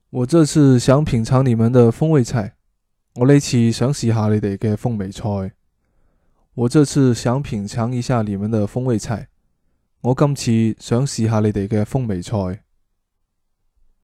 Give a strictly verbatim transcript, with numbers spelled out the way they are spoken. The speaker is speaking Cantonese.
我這次想品嘗你們的風味菜。我呢次想試下你哋嘅風味菜。我這次想品嘗一下你們的風味菜。我今次想試下你哋嘅風味菜。